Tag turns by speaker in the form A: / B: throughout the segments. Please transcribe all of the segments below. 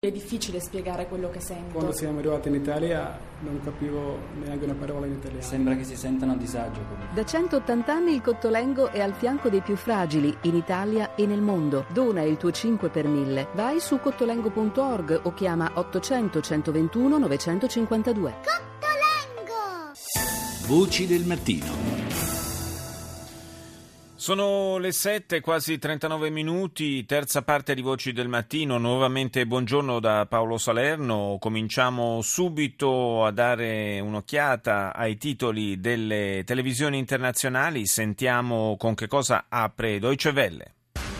A: È difficile spiegare quello che sento.
B: Quando siamo arrivati in Italia non capivo neanche una parola in italiano.
C: Sembra che si sentano a disagio.
D: Da 180 anni il Cottolengo è al fianco dei più fragili in Italia e nel mondo. Dona il tuo 5 per 1000. Vai su cottolengo.org o chiama 800 121 952.
E: Cottolengo!
F: Voci del mattino.
G: Sono le 7, quasi 39 minuti, terza parte di Voci del Mattino. Nuovamente buongiorno da Paolo Salerno. Cominciamo subito a dare un'occhiata ai titoli delle televisioni internazionali. Sentiamo con che cosa apre Deutsche Welle.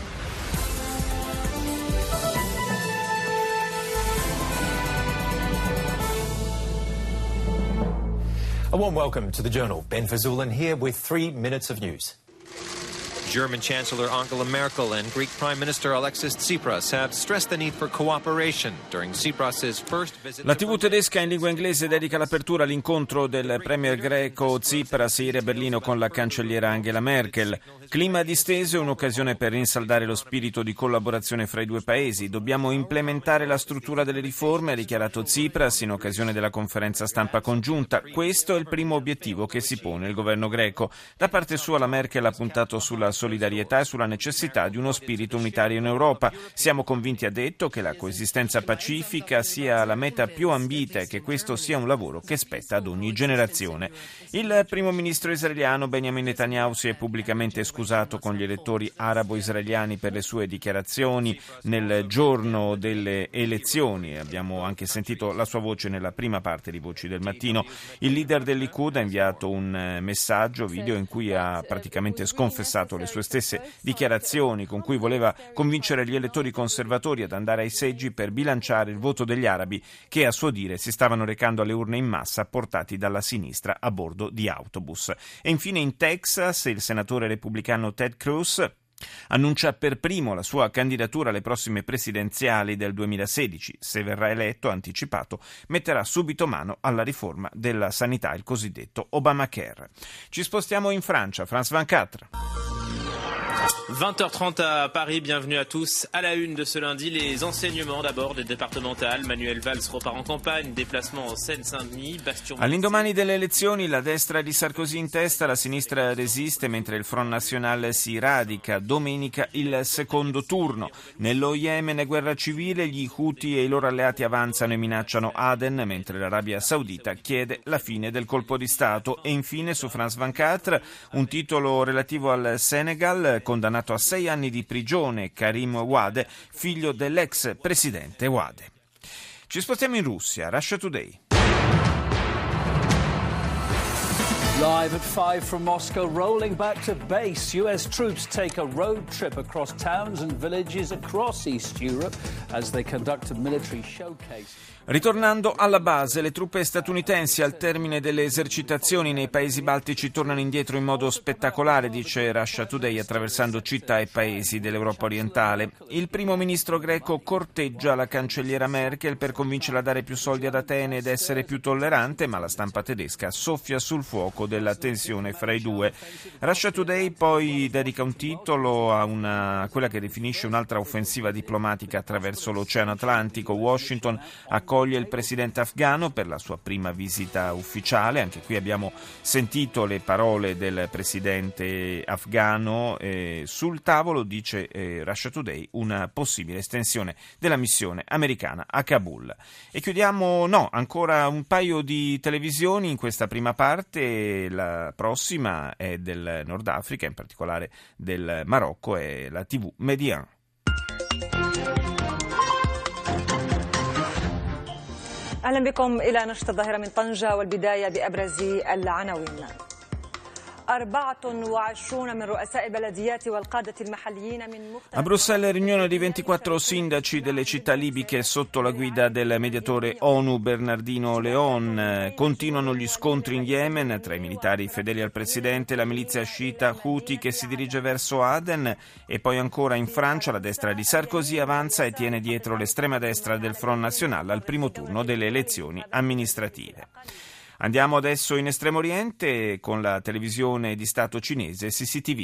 H: A warm welcome to the Journal. Ben Fazulin here with 3 minutes of news.
I: German Chancellor Angela Merkel and Greek Prime Minister Alexis Tsipras have stressed the need for cooperation during Tsipras's first visit.
G: La TV tedesca in lingua inglese dedica l'apertura all'incontro del premier greco Tsipras ieri a Berlino con la cancelliera Angela Merkel. Clima disteso è un'occasione per rinsaldare lo spirito di collaborazione fra i due paesi. Dobbiamo implementare la struttura delle riforme, ha dichiarato Tsipras in occasione della conferenza stampa congiunta. Questo è il primo obiettivo che si pone il governo greco. Da parte sua la Merkel ha puntato sulla solidarietà e sulla necessità di uno spirito unitario in Europa. Siamo convinti, ha detto, che la coesistenza pacifica sia la meta più ambita e che questo sia un lavoro che spetta ad ogni generazione. Il primo ministro israeliano Benjamin Netanyahu si è pubblicamente scusato con gli elettori arabo-israeliani per le sue dichiarazioni nel giorno delle elezioni. Abbiamo anche sentito la sua voce nella prima parte di Voci del Mattino. Il leader del Likud ha inviato un messaggio video in cui ha praticamente sconfessato le sue stesse dichiarazioni con cui voleva convincere gli elettori conservatori ad andare ai seggi per bilanciare il voto degli arabi che, a suo dire, si stavano recando alle urne in massa portati dalla sinistra a bordo di autobus. E infine in Texas il senatore repubblicano Ted Cruz annuncia per primo la sua candidatura alle prossime presidenziali del 2016. Se verrà eletto, ha anticipato, metterà subito mano alla riforma della sanità, il cosiddetto Obamacare. Ci spostiamo in Francia. France 24.
J: 20h30 à Paris, bienvenue à tous. À la une de ce lundi, les enseignements d'abord des départementales. Manuel Valls repart en campagne, déplacement en Seine-Saint-Denis.
G: All'indomani delle elezioni, la destra di Sarkozy in testa, la sinistra resiste mentre il Front National si radica. Domenica il secondo turno. Nello Yemen è guerra civile, gli Houthi e i loro alleati avanzano e minacciano Aden, mentre l'Arabia Saudita chiede la fine del colpo di Stato. E infine su France 24 un titolo relativo al Senegal, condannato a 6 anni di prigione Karim Wade, figlio dell'ex presidente Wade. Ci spostiamo in Russia, Russia Today.
K: Live at 5 from Moscow, rolling back to base. US troops take a road trip across towns and villages across East Europe as they conduct a military showcase.
G: Ritornando alla base, le truppe statunitensi al termine delle esercitazioni nei paesi baltici tornano indietro in modo spettacolare, dice Russia Today, attraversando città e paesi dell'Europa orientale. Il primo ministro greco corteggia la cancelliera Merkel per convincerla a dare più soldi ad Atene ed essere più tollerante, ma la stampa tedesca soffia sul fuoco della tensione fra i due. Russia Today poi dedica un titolo a quella che definisce un'altra offensiva diplomatica attraverso l'Oceano Atlantico. Washington accoglie il presidente afghano per la sua prima visita ufficiale. Anche qui abbiamo sentito le parole del presidente afghano. Sul tavolo, dice Russia Today, una possibile estensione della missione americana a Kabul. E chiudiamo, ancora un paio di televisioni in questa prima parte. La prossima è del Nord Africa, in particolare del Marocco, è la TV Median.
L: أهلا بكم إلى نشرة الظاهرة من طنجة والبداية بأبرز العناوين. 24 من رؤساء البلديات والقادة المحليين من مختلف.
G: A Bruxelles riunione di 24 sindaci delle città libiche sotto la guida del mediatore ONU Bernardino Leon. Continuano gli scontri in Yemen tra i militari fedeli al presidente e la milizia sciita Houthi che si dirige verso Aden. E poi ancora in Francia la destra di Sarkozy avanza e tiene dietro l'estrema destra del Front National al primo turno delle elezioni amministrative. Andiamo adesso in Estremo Oriente con la televisione di Stato cinese CCTV.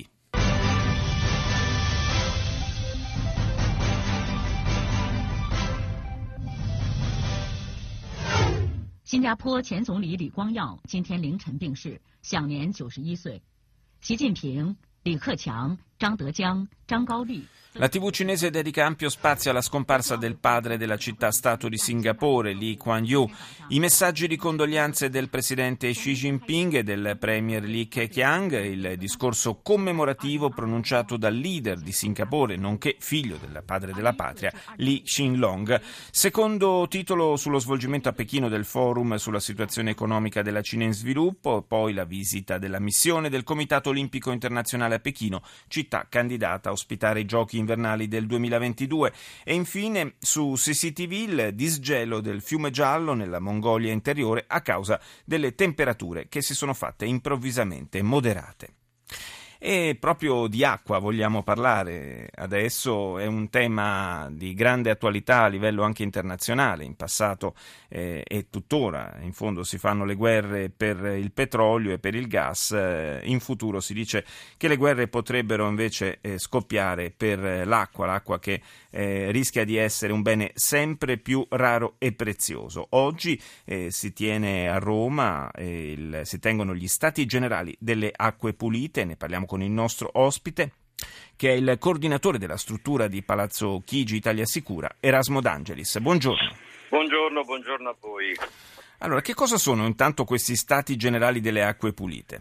C: 新加坡前总理李光耀今天凌晨病逝，享年91岁。习近平、李克强、张德江、张高丽。
G: La TV cinese dedica ampio spazio alla scomparsa del padre della città-stato di Singapore, Lee Kuan Yew. I messaggi di condoglianze del presidente Xi Jinping e del premier Lee Keqiang, il discorso commemorativo pronunciato dal leader di Singapore, nonché figlio del padre della patria, Lee Hsien Loong. Secondo titolo sullo svolgimento a Pechino del forum sulla situazione economica della Cina in sviluppo, poi la visita della missione del Comitato Olimpico Internazionale a Pechino, città candidata a ospitare i giochi invernali del 2022, e infine su CCTV il disgelo del fiume Giallo nella Mongolia interiore a causa delle temperature che si sono fatte improvvisamente moderate. E proprio di acqua vogliamo parlare adesso, è un tema di grande attualità a livello anche internazionale. In passato e tuttora in fondo si fanno le guerre per il petrolio e per il gas, in futuro si dice che le guerre potrebbero invece scoppiare per l'acqua che rischia di essere un bene sempre più raro e prezioso. Oggi si tiene a Roma, si tengono gli Stati Generali delle Acque Pulite, ne parliamo con il nostro ospite, che è il coordinatore della struttura di Palazzo Chigi Italia Sicura, Erasmo D'Angelis. Buongiorno.
M: Buongiorno a voi.
G: Allora, che cosa sono intanto questi Stati Generali delle Acque Pulite?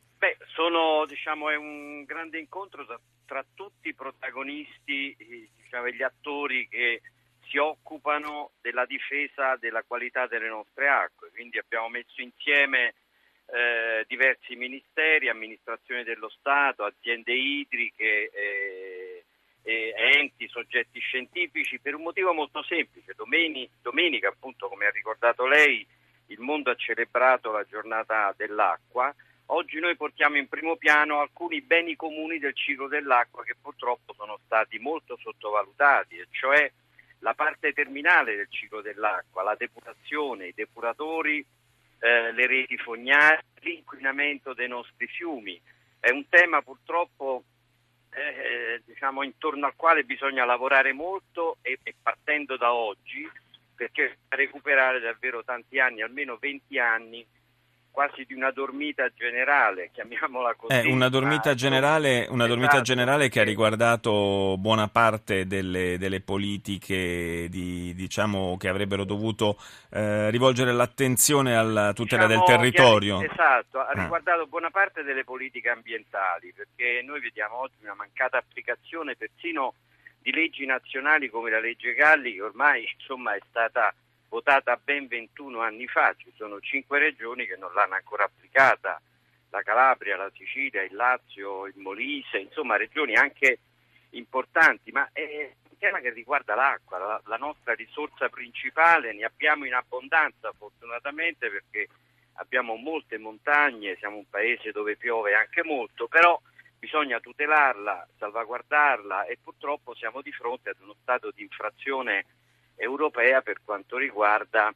M: È un grande incontro tra tutti i protagonisti, gli attori che si occupano della difesa della qualità delle nostre acque. Quindi abbiamo messo insieme diversi ministeri, amministrazioni dello Stato, aziende idriche, enti, soggetti scientifici, per un motivo molto semplice. Domenica, appunto, come ha ricordato lei, il mondo ha celebrato la giornata dell'acqua. Oggi noi portiamo in primo piano alcuni beni comuni del ciclo dell'acqua che purtroppo sono stati molto sottovalutati, e cioè la parte terminale del ciclo dell'acqua, la depurazione, i depuratori, le reti fognarie, l'inquinamento dei nostri fiumi. È un tema purtroppo intorno al quale bisogna lavorare molto e partendo da oggi, perché recuperare davvero tanti anni, almeno 20 anni, quasi di una dormita generale, chiamiamola così.
G: Una dormita generale che ha riguardato buona parte delle politiche che avrebbero dovuto rivolgere l'attenzione alla tutela del territorio.
M: Esatto, ha riguardato buona parte delle politiche ambientali, perché noi vediamo oggi una mancata applicazione persino di leggi nazionali come la legge Galli, che ormai è stata votata ben 21 anni fa. Ci sono 5 regioni che non l'hanno ancora applicata: la Calabria, la Sicilia, il Lazio, il Molise, regioni anche importanti, ma è un tema che riguarda l'acqua, la nostra risorsa principale. Ne abbiamo in abbondanza fortunatamente, perché abbiamo molte montagne, siamo un paese dove piove anche molto, però bisogna tutelarla, salvaguardarla, e purtroppo siamo di fronte ad uno stato di infrazione europea per quanto riguarda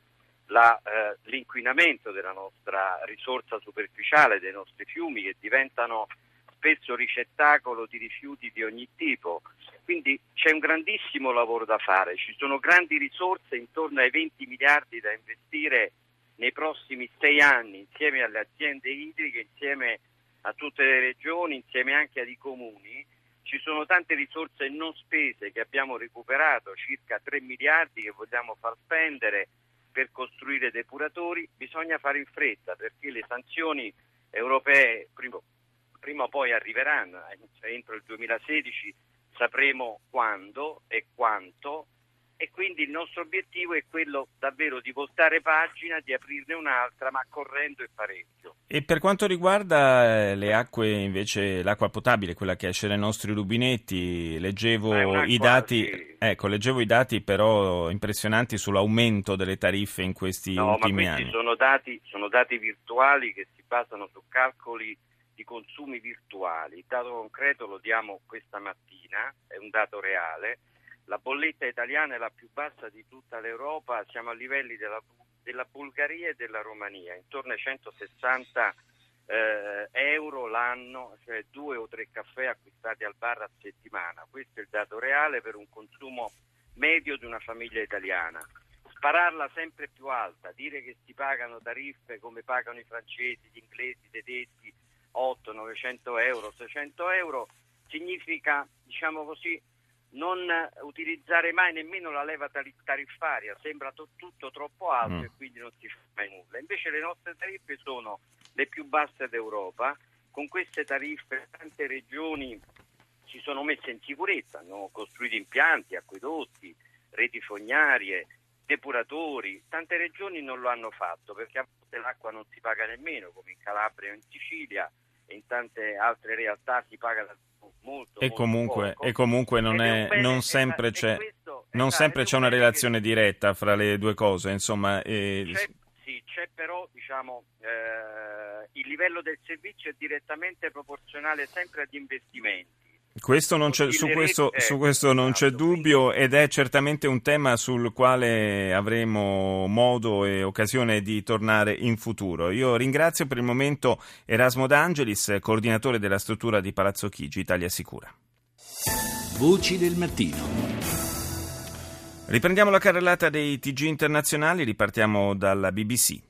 M: l'inquinamento della nostra risorsa superficiale, dei nostri fiumi, che diventano spesso ricettacolo di rifiuti di ogni tipo. Quindi c'è un grandissimo lavoro da fare, ci sono grandi risorse, intorno ai 20 miliardi da investire nei prossimi 6 anni, insieme alle aziende idriche, insieme a tutte le regioni, insieme anche ai comuni. Ci sono tante risorse non spese che abbiamo recuperato, circa 3 miliardi che vogliamo far spendere per costruire depuratori. Bisogna fare in fretta, perché le sanzioni europee prima o poi arriveranno. Entro il 2016 sapremo quando e quanto, e quindi il nostro obiettivo è quello davvero di voltare pagina, di aprirne un'altra, ma correndo e parecchio.
G: E per quanto riguarda le acque, invece, l'acqua potabile, quella che esce dai nostri rubinetti, leggevo i dati però impressionanti sull'aumento delle tariffe in questi ultimi anni.
M: Sono dati virtuali che si basano su calcoli di consumi virtuali. Il dato concreto lo diamo questa mattina, è un dato reale. La bolletta italiana è la più bassa di tutta l'Europa, siamo a livelli della Bulgaria e della Romania, intorno ai 160 euro l'anno, cioè 2 o 3 caffè acquistati al bar a settimana. Questo è il dato reale per un consumo medio di una famiglia italiana. spararla sempre più alta, dire che si pagano tariffe come pagano i francesi, gli inglesi, i tedeschi, 8, 900 euro, 600 euro, significa, diciamo così, non utilizzare mai nemmeno la leva tariffaria, sembra tutto troppo alto e quindi non si fa mai nulla. Invece le nostre tariffe sono le più basse d'Europa. Con queste tariffe tante regioni si sono messe in sicurezza, hanno costruito impianti, acquedotti, reti fognarie, depuratori. Tante regioni non lo hanno fatto perché a volte l'acqua non si paga nemmeno, come in Calabria o in Sicilia, e in tante altre realtà si paga molto,
G: e comunque,
M: poco.
G: E comunque non sempre c'è una relazione diretta fra le due cose, insomma.
M: C'è però, diciamo, il livello del servizio è direttamente proporzionale sempre agli investimenti.
G: Su questo non c'è dubbio, ed è certamente un tema sul quale avremo modo e occasione di tornare in futuro. Io ringrazio per il momento Erasmo D'Angelis, coordinatore della struttura di Palazzo Chigi, Italia Sicura.
F: Voci del mattino.
G: Riprendiamo la carrellata dei TG internazionali, ripartiamo dalla BBC.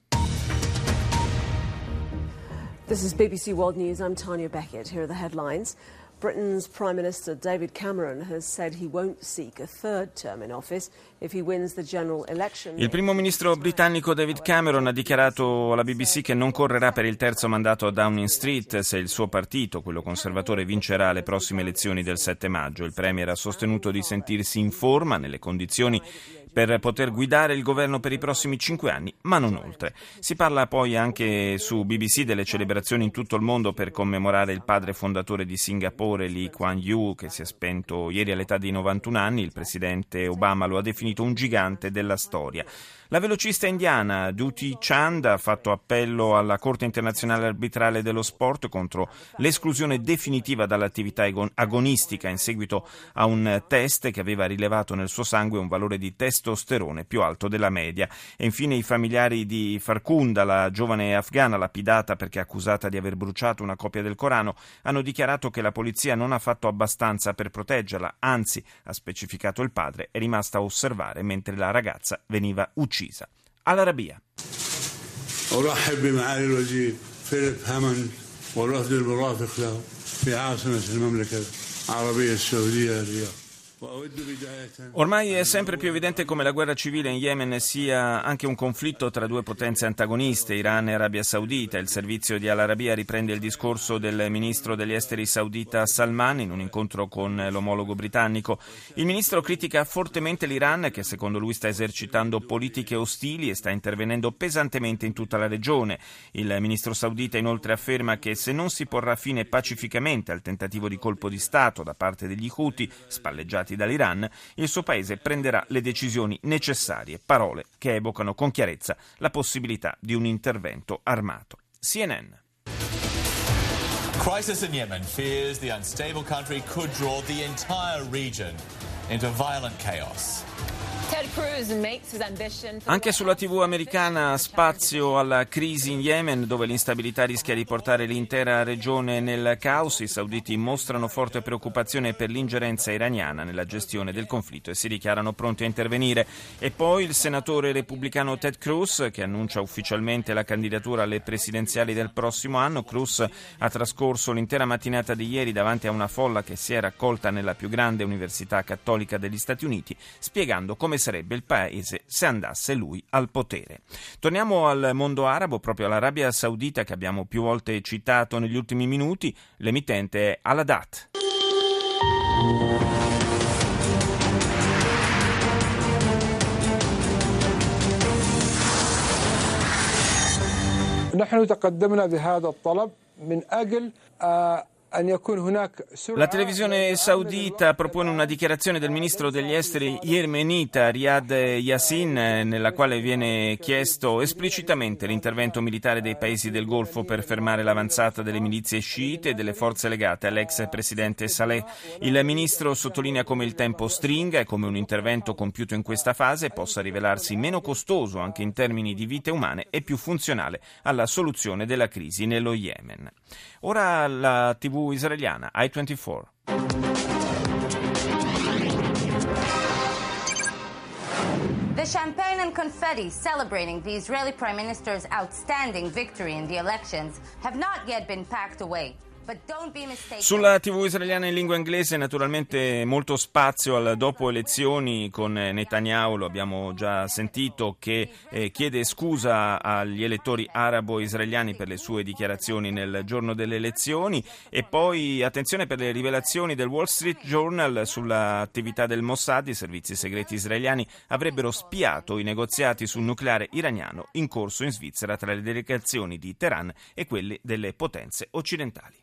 N: This is BBC World News. I'm Tanya Beckett. Here are the headlines. Britain's Prime Minister David Cameron has said he won't seek a third term in office if he wins the general election.
G: Il primo ministro britannico David Cameron ha dichiarato alla BBC che non correrà per il terzo mandato a Downing Street se il suo partito, quello conservatore, vincerà le prossime elezioni del 7 maggio. Il premier ha sostenuto di sentirsi in forma, nelle condizioni per poter guidare il governo per i prossimi 5 anni, ma non oltre. Si parla poi anche su BBC delle celebrazioni in tutto il mondo per commemorare il padre fondatore di Singapore, Lee Kuan Yew, che si è spento ieri all'età di 91 anni. Il presidente Obama lo ha definito un gigante della storia. La velocista indiana Dutee Chand ha fatto appello alla Corte internazionale arbitrale dello sport contro l'esclusione definitiva dall'attività agonistica in seguito a un test che aveva rilevato nel suo sangue un valore di testosterone più alto della media. E infine i familiari di Farkhunda, la giovane afghana lapidata perché accusata di aver bruciato una copia del Corano, hanno dichiarato che la polizia non ha fatto abbastanza per proteggerla, anzi, ha specificato il padre, è rimasta a osservare mentre la ragazza veniva uccisa. All'Arabia.
O: أرحب بمعالي الوزير فيليب هاموند والوفد المرافق له في عاصمة المملكة العربية السعودية الرياض.
G: Ormai è sempre più evidente come la guerra civile in Yemen sia anche un conflitto tra due potenze antagoniste, Iran e Arabia Saudita. Il servizio di Al Arabiya riprende il discorso del ministro degli esteri saudita Salman in un incontro con l'omologo britannico. Il ministro critica fortemente l'Iran, che secondo lui sta esercitando politiche ostili e sta intervenendo pesantemente in tutta la regione. Il ministro saudita inoltre afferma che se non si porrà fine pacificamente al tentativo di colpo di Stato da parte degli Houthi, spalleggiati dall'Iran, il suo paese prenderà le decisioni necessarie, parole che evocano con chiarezza la possibilità di un intervento armato. CNN.
P: Crisis in Yemen fears the unstable country could draw the entire region into violent chaos.
G: Anche sulla TV americana spazio alla crisi in Yemen, dove l'instabilità rischia di portare l'intera regione nel caos. I sauditi mostrano forte preoccupazione per l'ingerenza iraniana nella gestione del conflitto e si dichiarano pronti a intervenire. E poi il senatore repubblicano Ted Cruz, che annuncia ufficialmente la candidatura alle presidenziali del prossimo anno. Cruz ha trascorso l'intera mattinata di ieri davanti a una folla che si è raccolta nella più grande università cattolica degli Stati Uniti, spiegando come sarebbe il paese se andasse lui al potere. Torniamo al mondo arabo, proprio all'Arabia Saudita che abbiamo più volte citato negli ultimi minuti. L'emittente è Al-Haddad.
Q: نحن تقدمنا بهذا الطلب من أجل
G: La televisione saudita propone una dichiarazione del ministro degli esteri yemenita Riyad Yassin, nella quale viene chiesto esplicitamente l'intervento militare dei paesi del Golfo per fermare l'avanzata delle milizie sciite e delle forze legate all'ex presidente Saleh. Il ministro sottolinea come il tempo stringa e come un intervento compiuto in questa fase possa rivelarsi meno costoso anche in termini di vite umane e più funzionale alla soluzione della crisi nello Yemen. Ora la TV israeliana I-24.
R: The champagne and confetti celebrating the Israeli Prime Minister's outstanding victory in the elections have not yet been packed away.
G: Sulla TV israeliana in lingua inglese naturalmente molto spazio al dopo elezioni con Netanyahu, lo abbiamo già sentito, che chiede scusa agli elettori arabo-israeliani per le sue dichiarazioni nel giorno delle elezioni, e poi attenzione per le rivelazioni del Wall Street Journal sull'attività del Mossad. I servizi segreti israeliani avrebbero spiato i negoziati sul nucleare iraniano in corso in Svizzera tra le delegazioni di Teheran e quelle delle potenze occidentali.